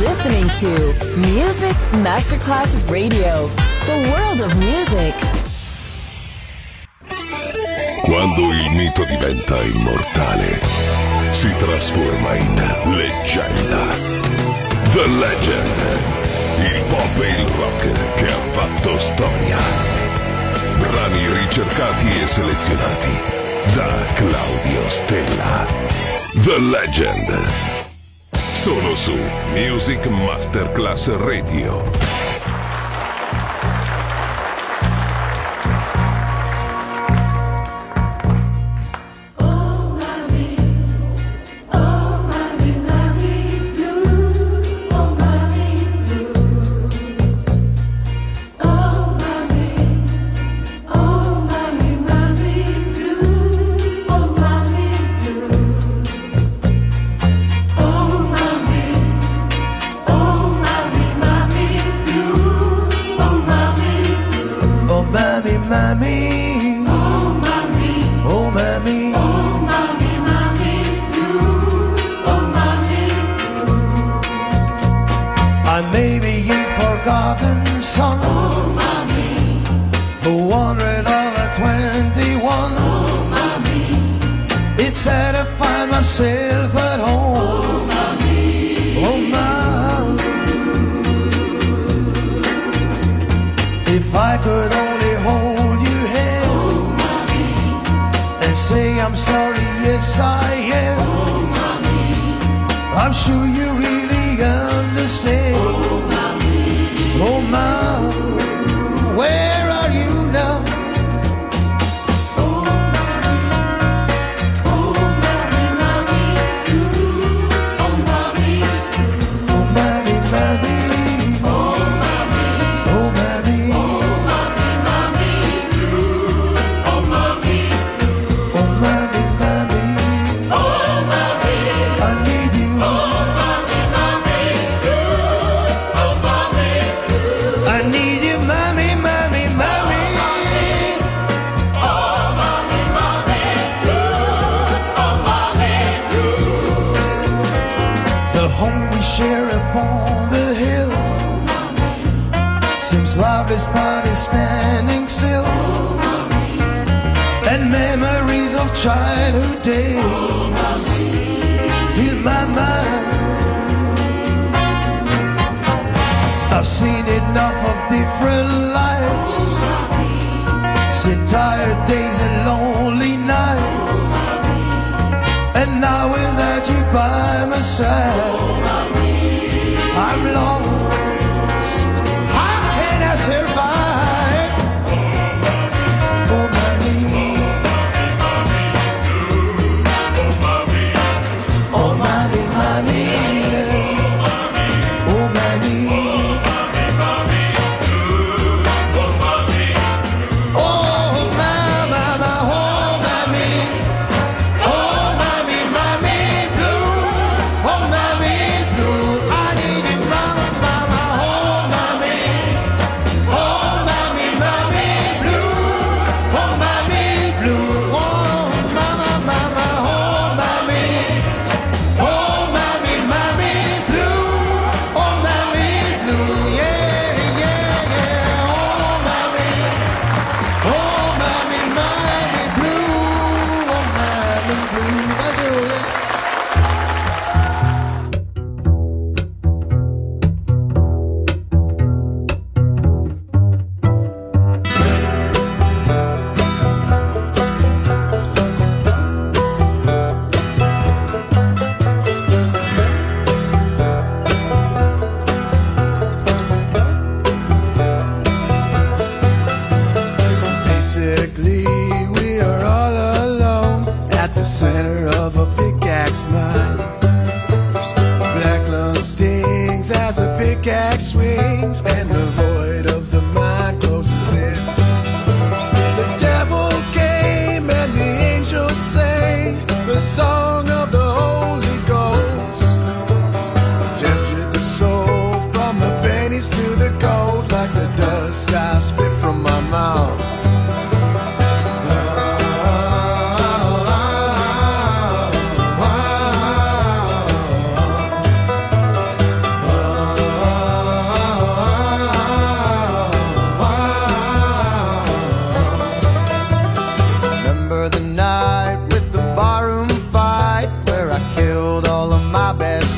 listening to Music Masterclass Radio, the world of music. Quando il mito diventa immortale, si trasforma in leggenda. The Legend, il pop e il rock che ha fatto storia. Brani ricercati e selezionati da Claudio Stella. The Legend. Solo su Music Masterclass Radio.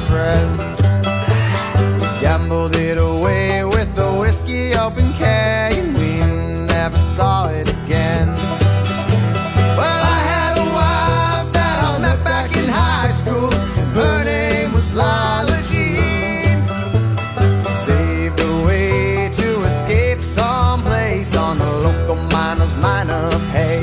friends. We gambled it away with the whiskey open keg, and we never saw it again. Well, I had a wife that I met back in high school, and her name was Lila Jean. Saved a way to escape someplace on the local miner's minor pay.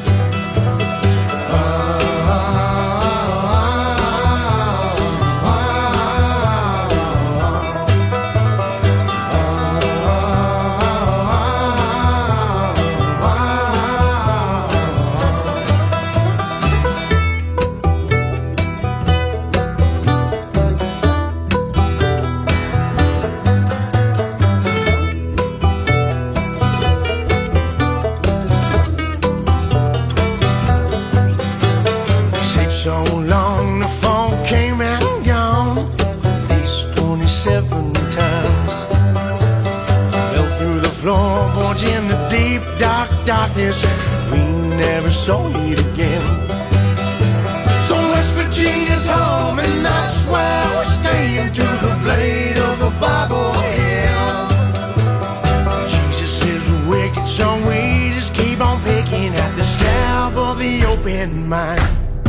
So long the phone came and gone, at least 27 times. Fell through the floorboards in the deep dark darkness, we never saw it again. So West Virginia's home, and that's where we're staying, to the blade of the Bible hymn. Jesus is wicked, so we just keep on picking at the scab of the open mind.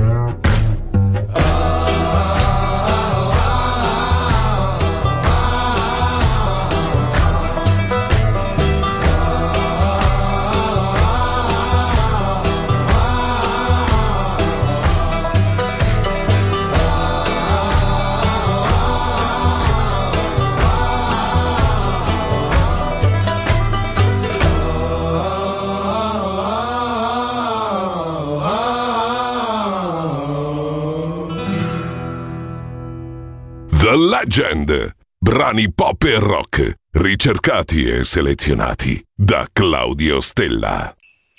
The Legend. Brani pop e rock, ricercati e selezionati da Claudio Stella.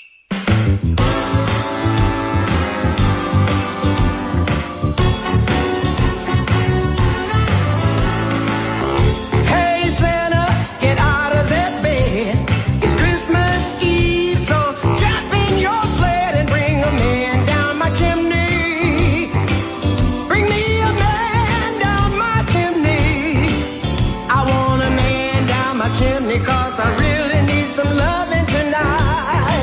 Hey Santa, get out of that bed. It's Christmas Eve, so jump in your sled and bring a man down my chimney. Bring me a man down my chimney. I want a man down my chimney, 'cause I really need some loving tonight.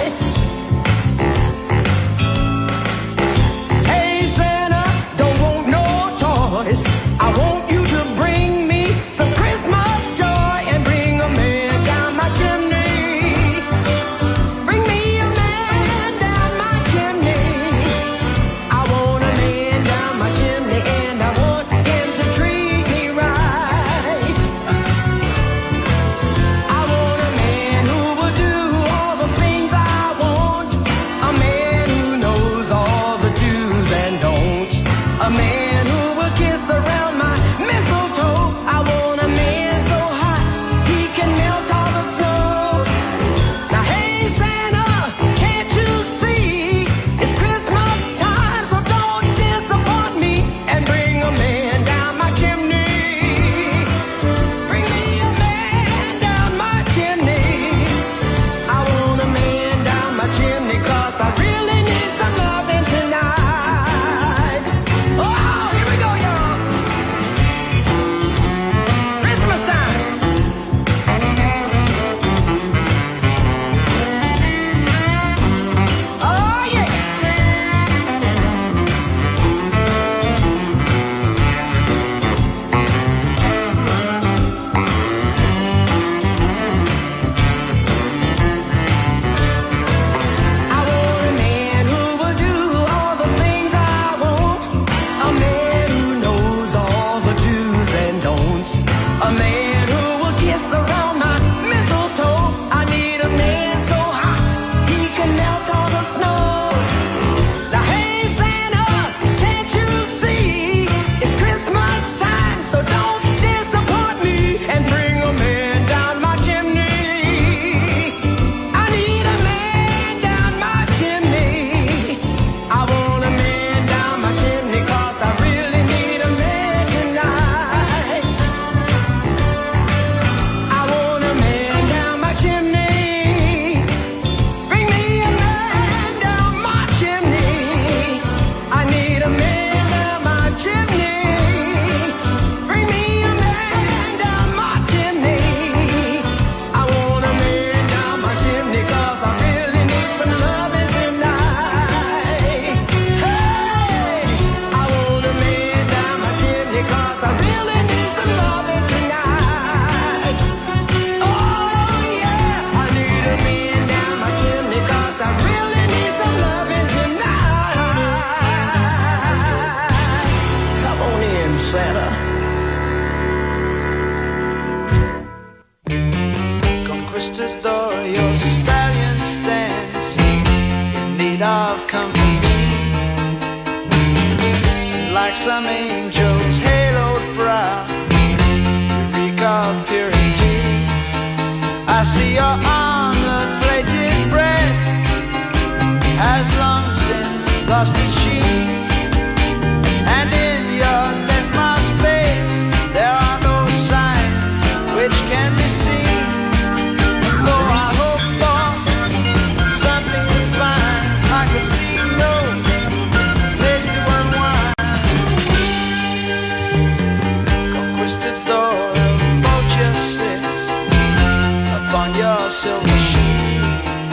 Conquistador, your stallion stands in need of company. Like some angel's haloed brow, you reek of purity. I see your armor-plated breast has long since lost its sheen, and in your death-masked face there are no signs which can be seen. Though I hope for something to find, I could see no place to unwind. Conquistador, a vulture sits upon your silver sheet,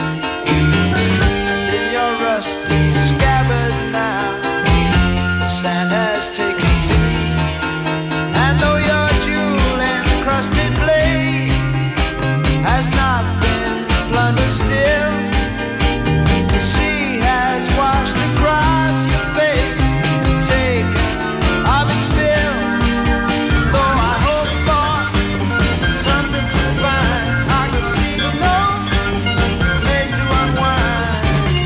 and in your rusty scabbard now the sand has taken seat. And though your jewel-encrusted blade has not been plundered still, the sea has washed across your face and taken of its fill. Though I hope for something to find, I could see no place to unwind.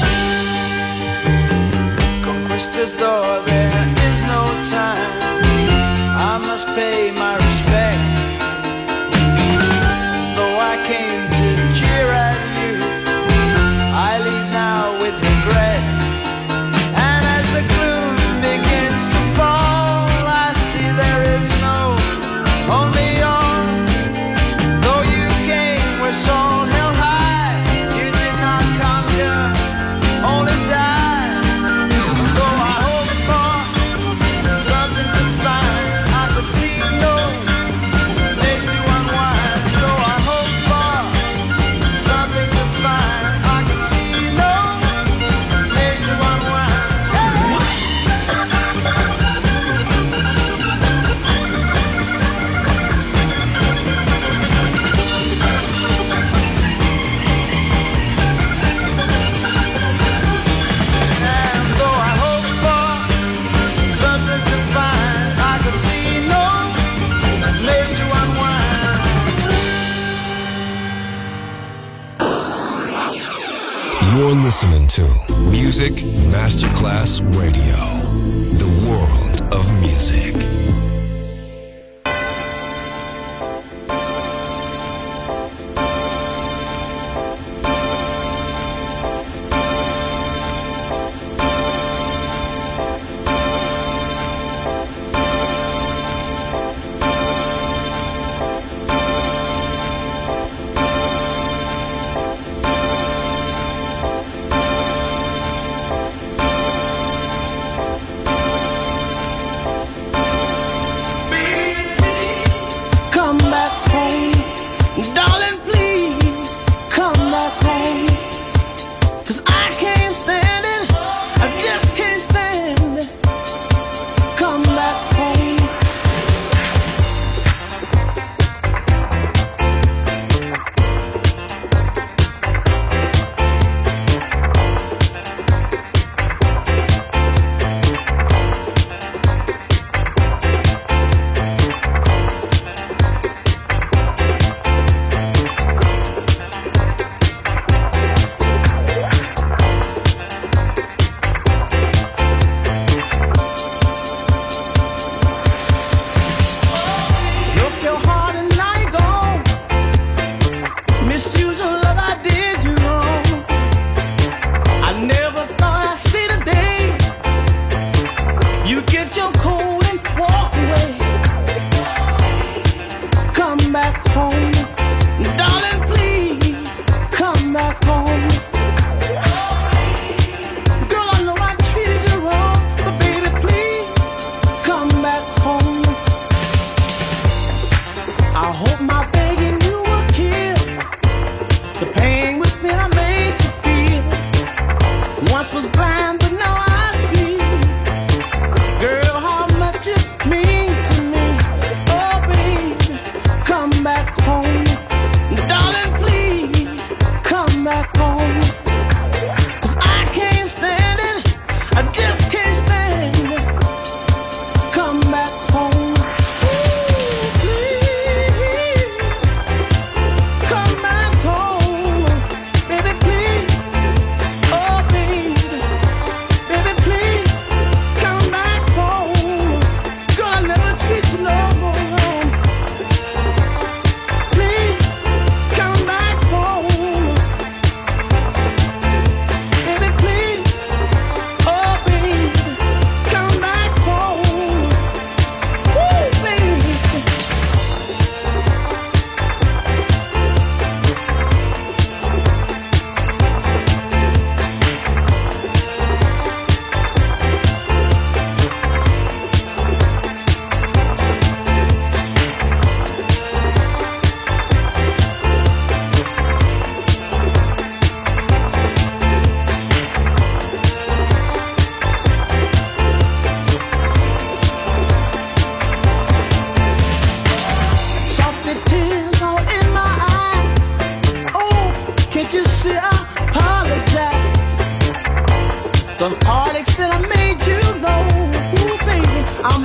Conquistador, there is no time, I must pay my respect. Though I came to jeer at you, I leave now with regret. And as the gloom begins to fall, I see there is no only all. Though you came with soul held high, you did not conquer, only die. Though I hope for something to find, I could see no place to unwind. Though I hope for something to find, I could see no place to unwind. And though I hope for something to find, I could see no place to unwind. You're listening to Music Masterclass Radio, the world of music.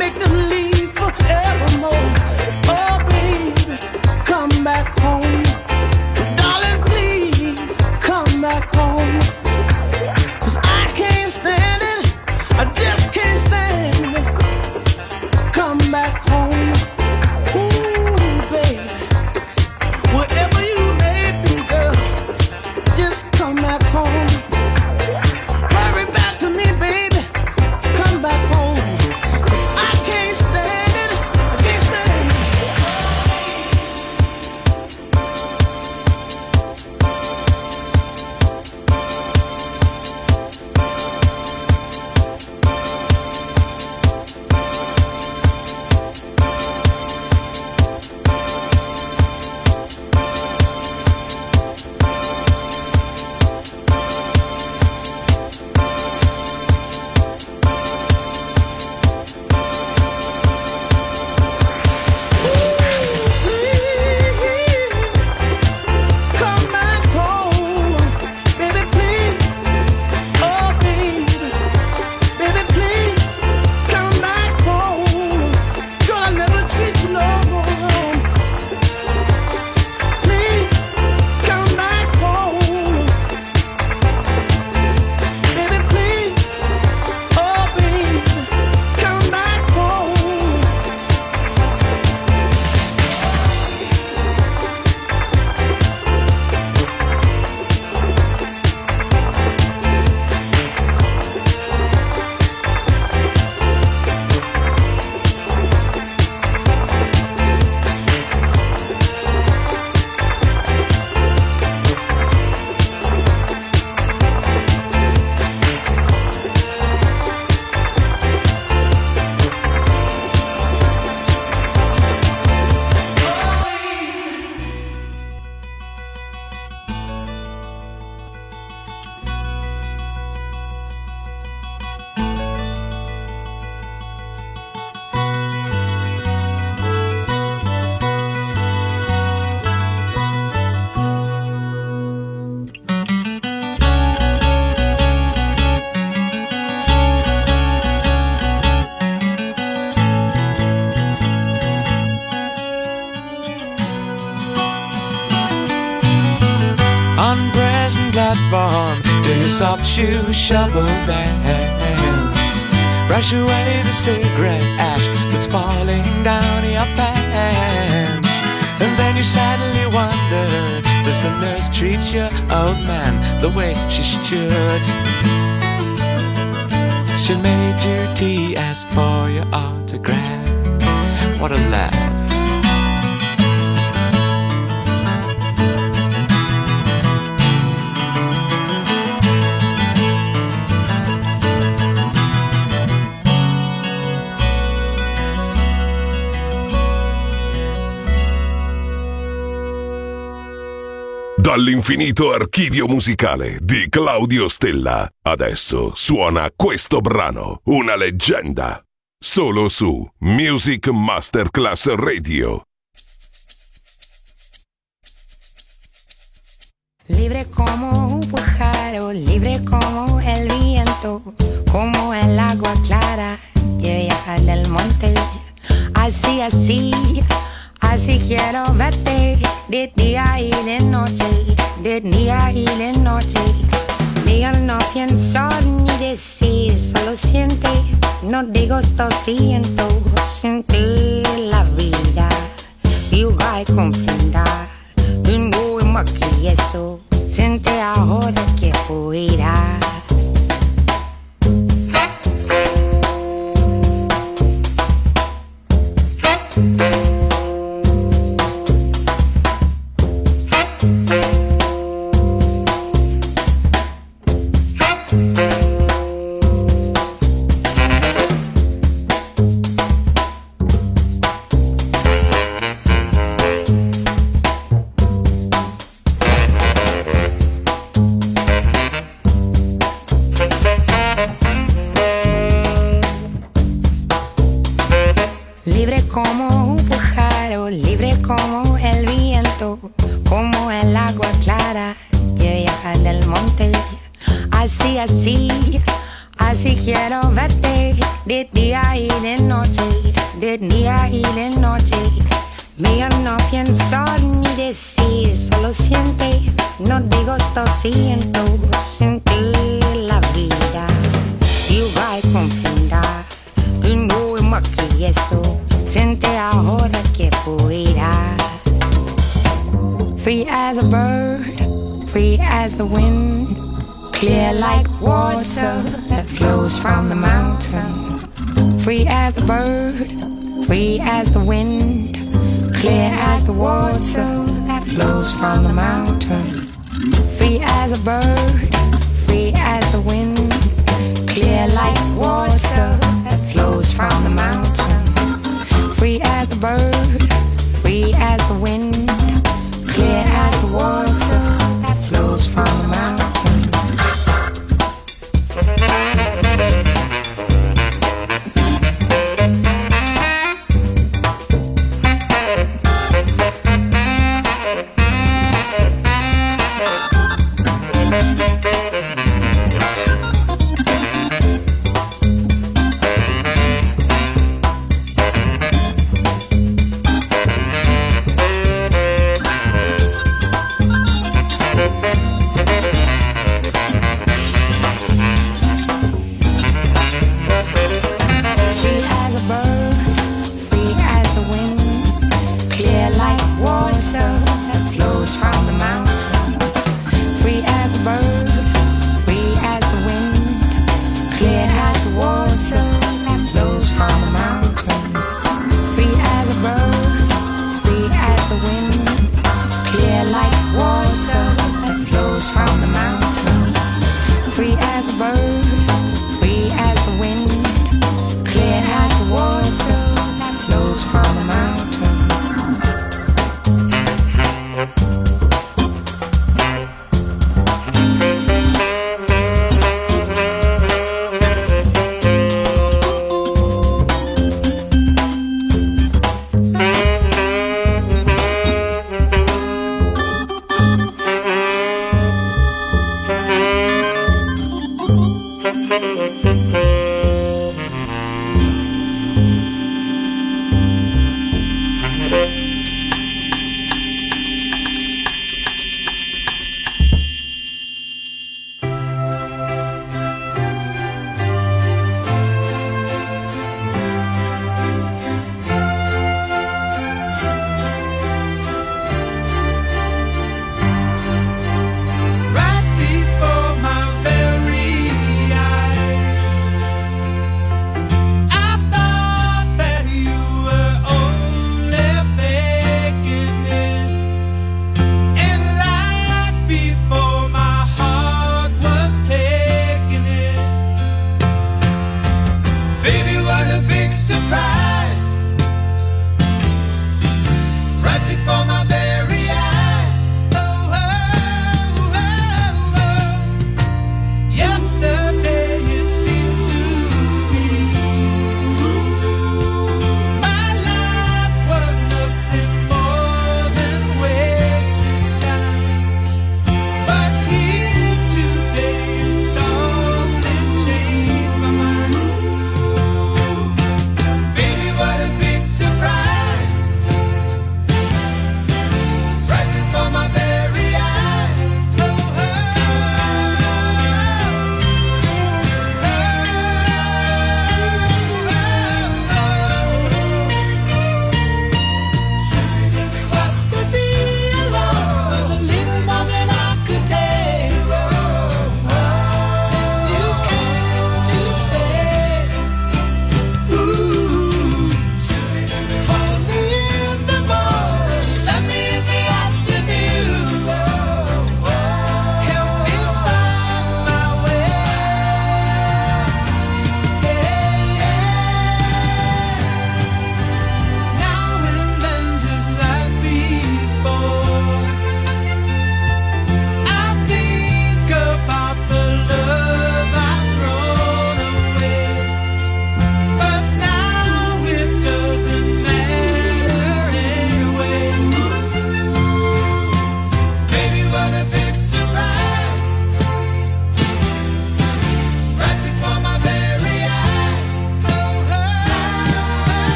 make them leave forevermore. Oh, baby, come back home. Darling, please come back home. 'Cause I can't stand it, I just can't stand it. Come back home. Ooh, baby, wherever you may be, girl, just come back home. Hurry back to me, baby, come back home. 'Cause I can't stand it, I can't stand it. Come back home, baby, please. Oh, baby, please, come back home. Girl, I never treat you no wrong. Please, come back home. Baby, please. Oh, baby, come back home. On present platform, do your soft shoe shuffle dance. Brush away the cigarette ash that's falling down your pants. And then you sadly wonder, does the nurse treat your old man the way she should? She made you tea, asked for your autograph. What a laugh. Dall'infinito archivio musicale di Claudio Stella, adesso suona questo brano, una leggenda, solo su Music Masterclass Radio. Libre como un pájaro, libre como el viento, como el agua clara que viaja del monte. Así, así, así quiero verte, de día y de noche, de día y de noche. Diga, no pienso ni decir, solo siente, no digo esto siento, sentir la vida, y vai comprender. No es más que eso, siente ahora que fuirás. Libre como un pájaro, libre como el viento, como el agua clara que viaja del monte. Así, así, así quiero verte, de día y de noche, de día y de noche. Mía no pienso ni decir, solo siente, no digo esto siento, sentir la vida. Y va a comprender, y no es más que eso, siente ahora que pueda. Free as a bird, free as the wind, clear like water that flows from the mountain. Free as a bird, free as the wind, clear as the water that flows from the mountain. Free as a bird, free as the wind, clear like water that flows from the mountain. Free as a bird, free as the wind, clear as the water that flows from the mountain. I thought that you were only fair.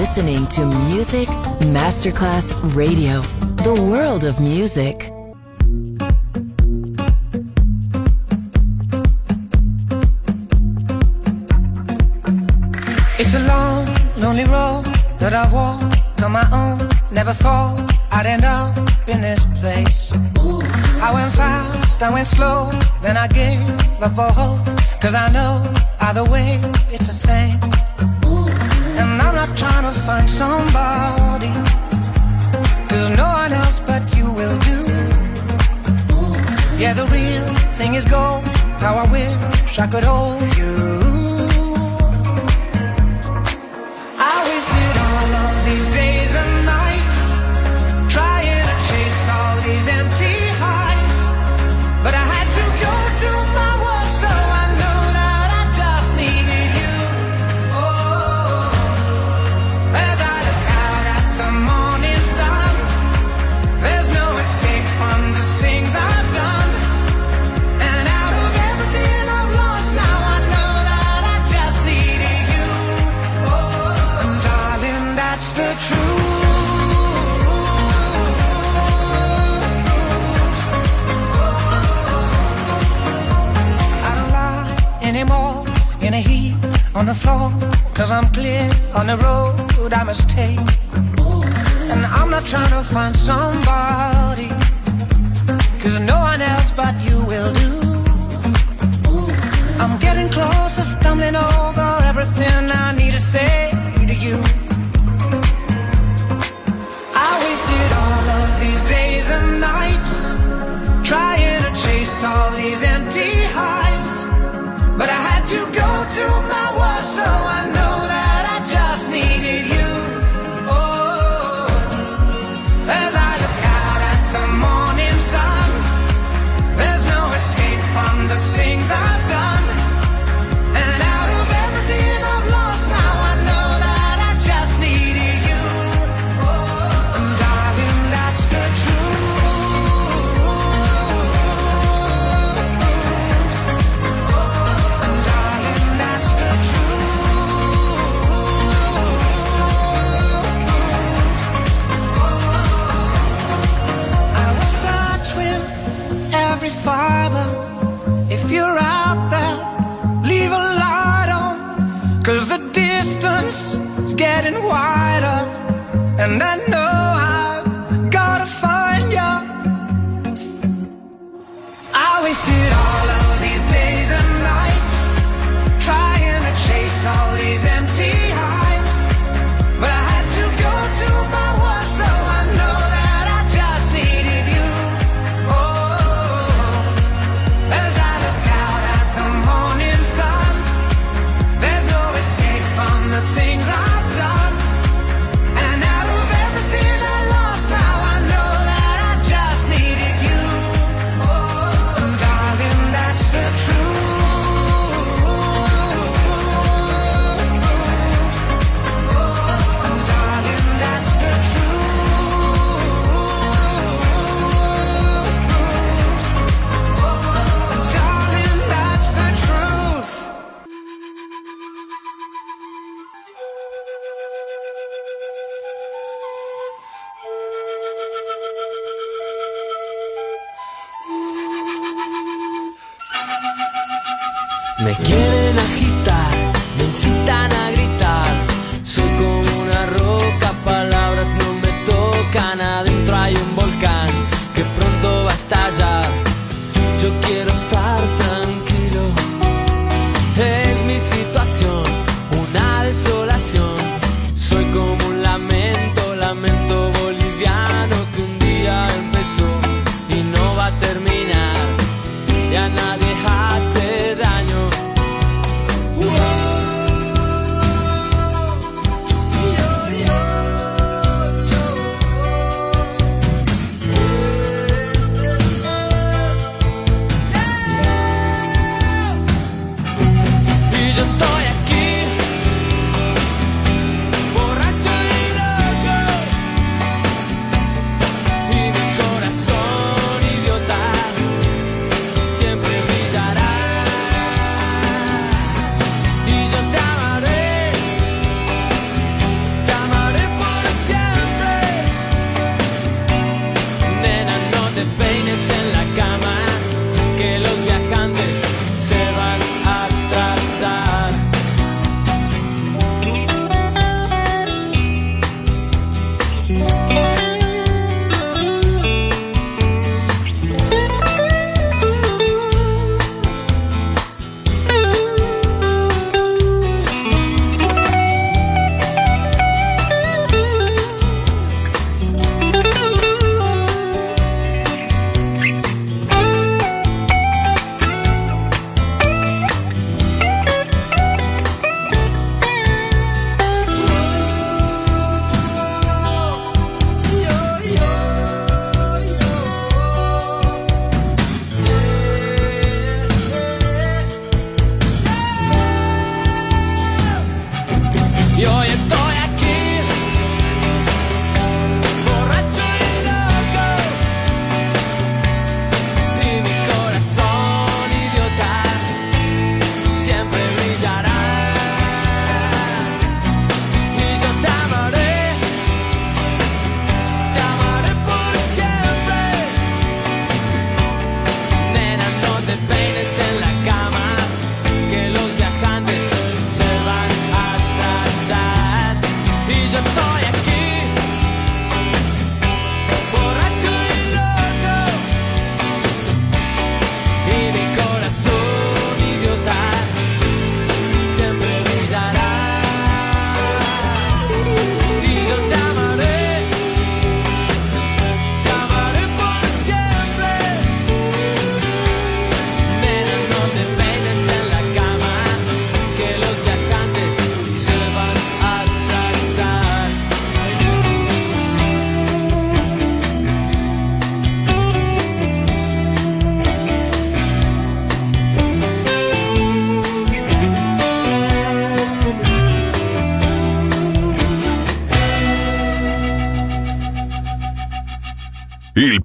listening to Music Masterclass Radio, the world of music. It's a long, lonely road that I've walked on my own. Never thought I'd end up in this place. I went fast, I went slow, then I gave up all hope. Cause I know either way it's the same. And I'm not trying to find somebody, cause no one else but you will do. Yeah, the real thing is gold, how I wish I could hold you. I wasted all of these days and nights trying to chase all these empty highs, but I had to go to my worst, so I know that I just needed you. Oh, as I look out at the morning sun, there's no escape from the things I've done, and out of everything I've lost, now I know that I just needed you. Oh, and darling, that's the truth. Anymore in a heap on the floor, cause I'm clear on the road I must take. And I'm not trying to find somebody, cause no one else but you will do. I'm getting closer, stumbling over everything I need to say to you. I wasted all of these days and nights trying to chase all these empty highs, but I had to go to my worst, so I know that I just needed you. Oh, as I look out at the morning sun, there's no escape from the things I've done, and out of everything I've lost, now I know that I just needed you. Oh, and darling, that's the truth. Fiber, if you're out there, leave a light on, cause the distance is getting wider, and I know I've gotta find you. I wasted all of these days and nights trying to chase all these empty highs, but I had to go to my worst, so I know that I just needed you. The things I've done, and out of everything I lost, now I know that I just needed you. Oh, and darling, that's the truth. Oh, and darling, that's the truth. Oh, darling, that's the truth. Me quieren agitar, me incitan a gritar. Soy como una roca, palabras no me tocan. Adentro hay un volcán que pronto va a estallar. Yo quiero estar tranquilo. Es mi situación, una desolación. Soy como un lamento, lamento boliviano que un día empezó y no va a terminar. Y a nadie hace daño.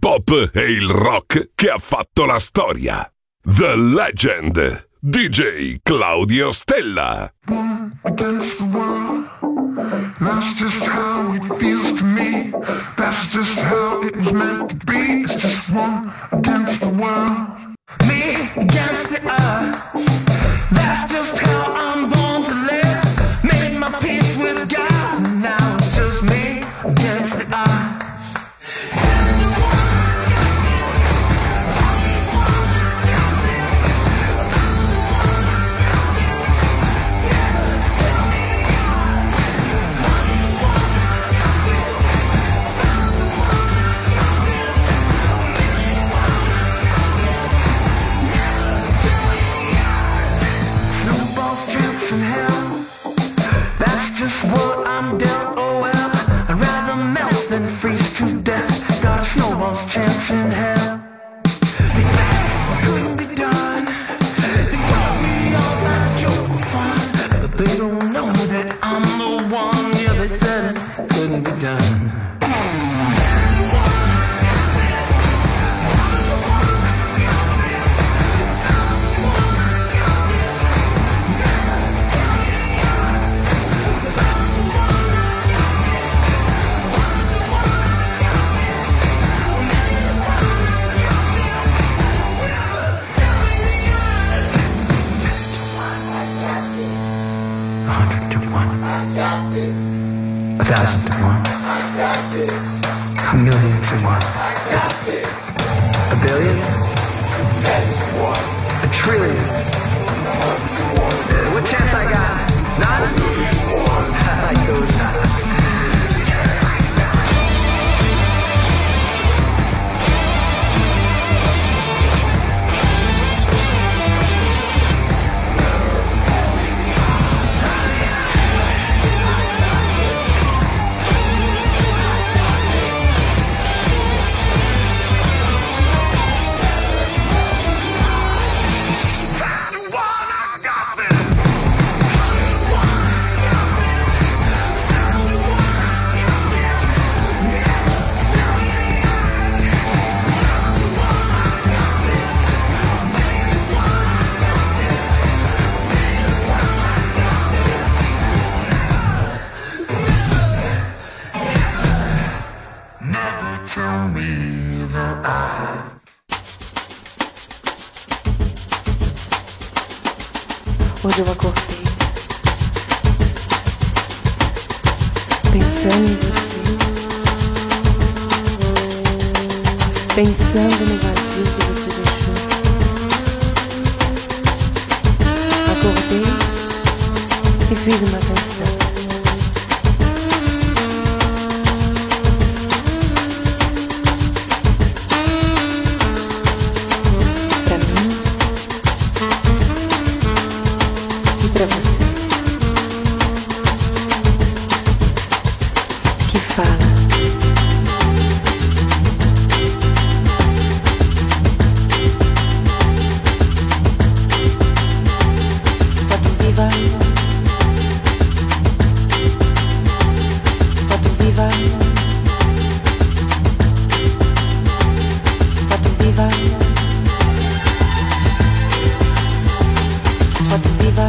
pop e il rock che ha fatto la storia. The Legend, DJ Claudio Stella. One against the world, that's just how it feels to me. That's just how it was meant to be. It's just one against the world, me against the earth. That's just how I'm born to live. Made my peace with God, and now it's just me against the earth. Just what I'm dealt, oh well. I'd rather melt than freeze to death. Got a snowball's chance in hell. They said it couldn't be done. They told me all that a joke for fun, but they don't know that I'm the one. Yeah, they said it couldn't be done. A thousand to one. I got this. A million to one. I got this. A billion? 10 to 1. A trillion? 100 to 1. What chance I got? None? 1 million to 1. I goes none. Hoje eu acordei pensando em você, pensando no vazio que você deixou. Acordei e fiz uma canção. Pra mim e pra você, que fala. Foto viva, foto viva, foto viva, foto viva.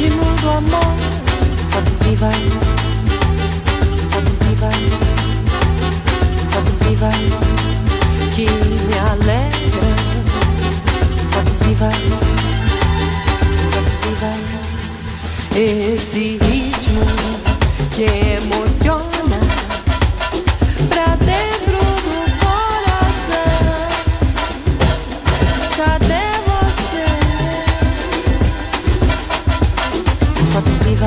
ritmo do amor. Quando viva, quando viva, quando viva, que me alegra. Quando viva, esse ritmo que emociona pra dentro do coração. Cadê você? Quando viva,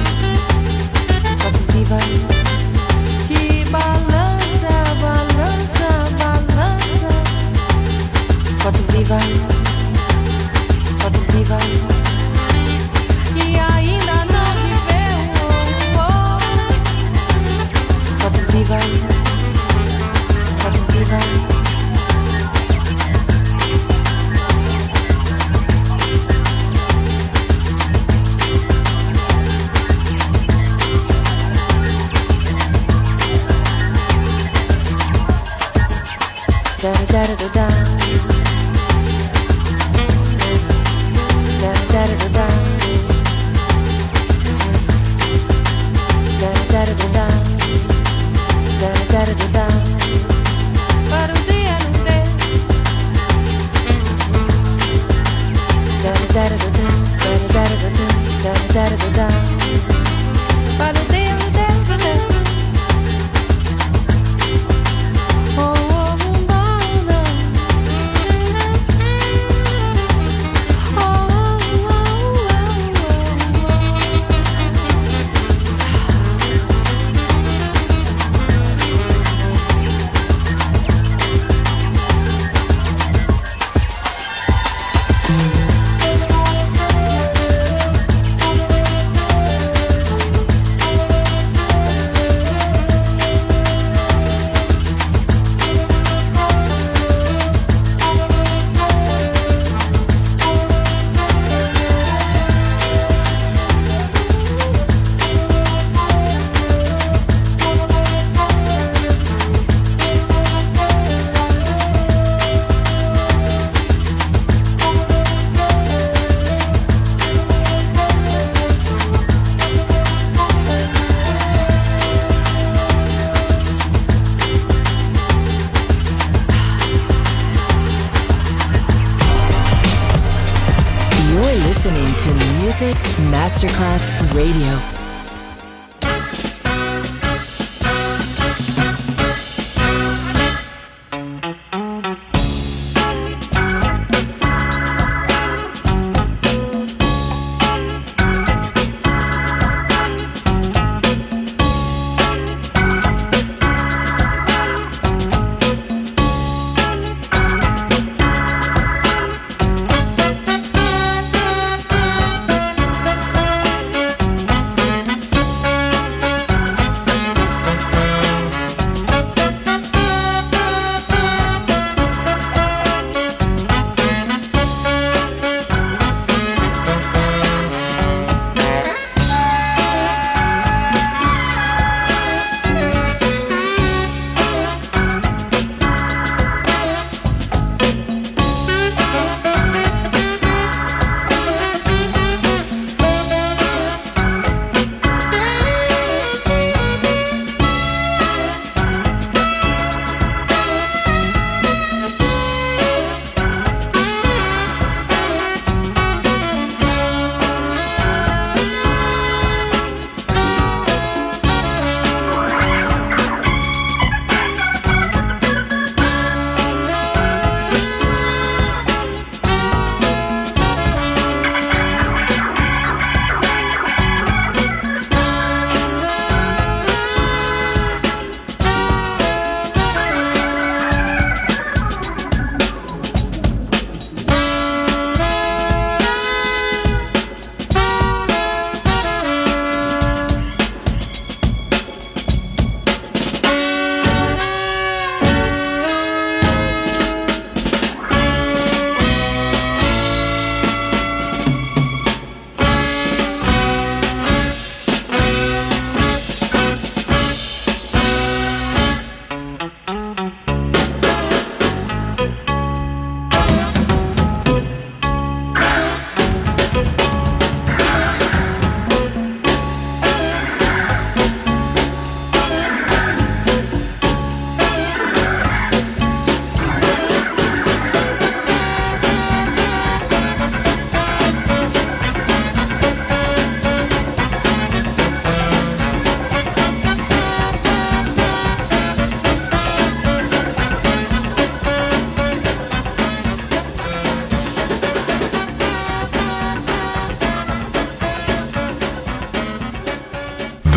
que balança, balança, balança. Quando viva, e ainda não viveu. Quando viva, quando viva. Da da da da da. Da da da da. Da da da da. Da da da da. Para o dia não ter. Da da da da. Da da da da. Da da da da. Para o dia não ter. Listening to Music Masterclass Radio.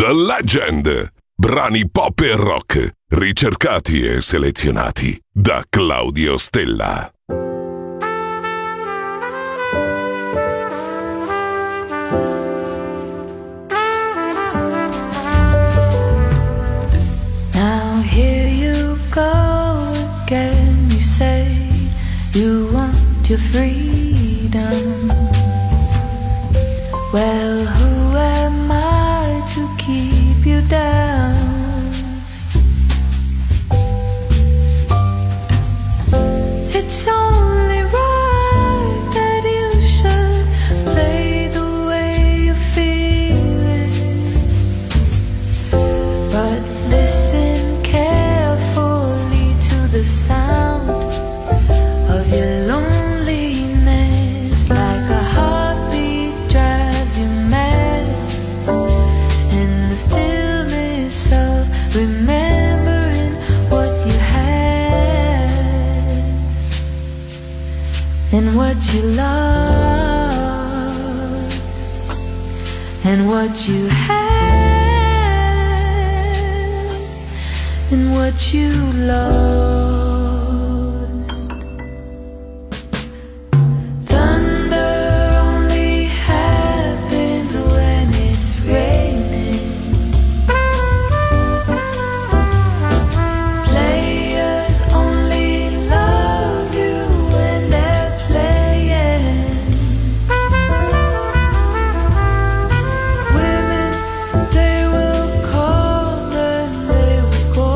The Legend. Brani pop e rock, ricercati e selezionati da Claudio Stella. Now here you go again. You say you want your freedom. Well, who am I to keep you down? It's only right that you should play the way you're feeling. But listen carefully to the sound of your loneliness, like a heartbeat drives you mad. In the stillness of remembering what you had and what you lost and what you had and what you lost. Thunder only happens when it's raining. Players only love you when they're playing. Women, they will come and they will go.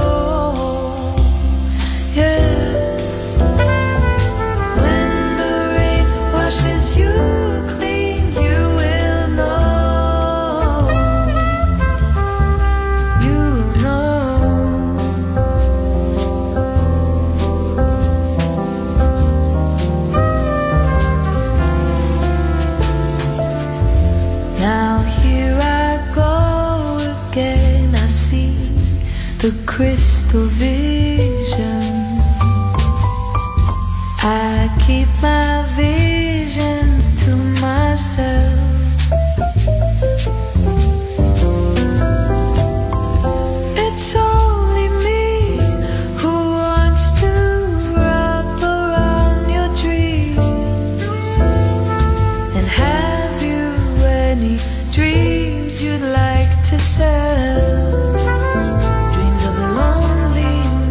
Yeah. When the rain washes you clean, you will know. You know. Now here I go again. I see the crystal vision. I keep my visions to myself. It's only me who wants to wrap around your dream. And have you any dreams you'd like to sell? Dreams of loneliness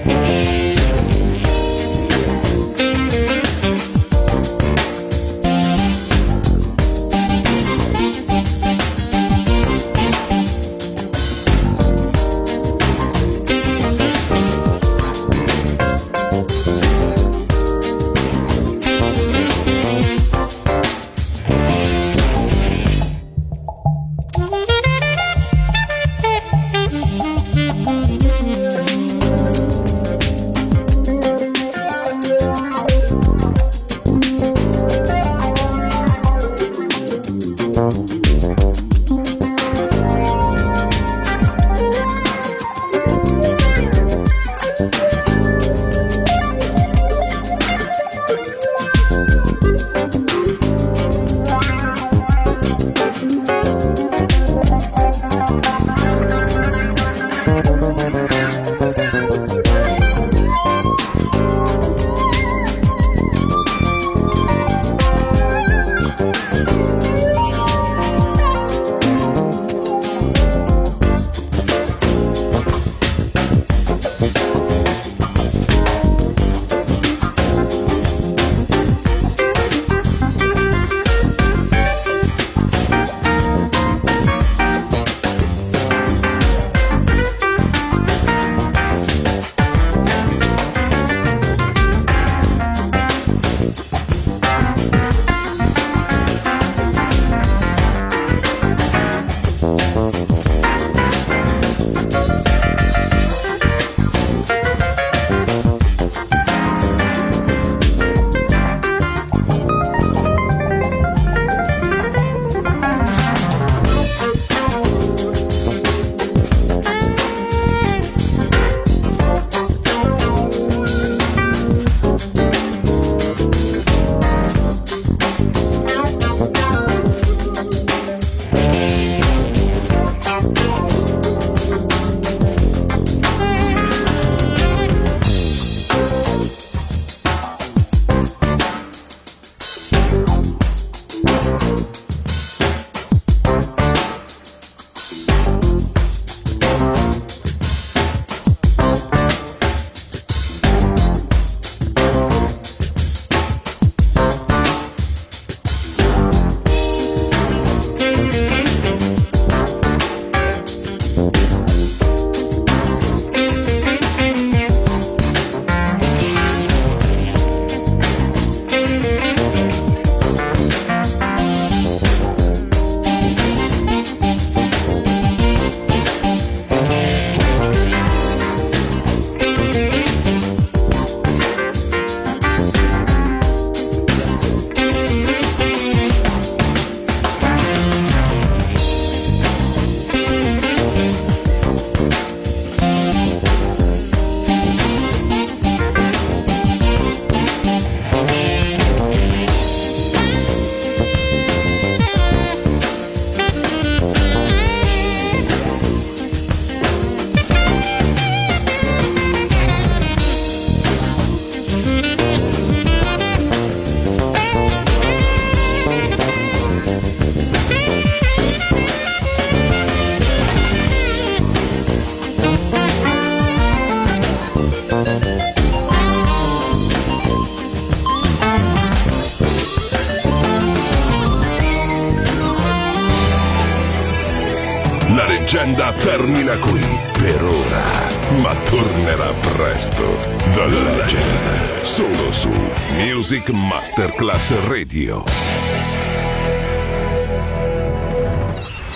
leggenda termina qui per ora, ma tornerà presto. The Legend, solo su Music Masterclass Radio.